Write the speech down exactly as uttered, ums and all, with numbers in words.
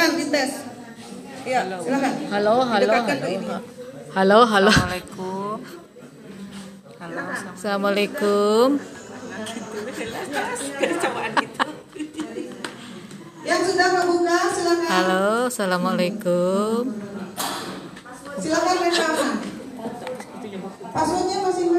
silakan dites. Ya, silakan. Halo, halo, Didekatkan halo. ke ini. Halo, halo. Assalamualaikum. Halo, Assalamualaikum. Yang sudah membuka silakan. Halo, assalamualaikum. Silakan rekaman. Passwordnya masing-masing.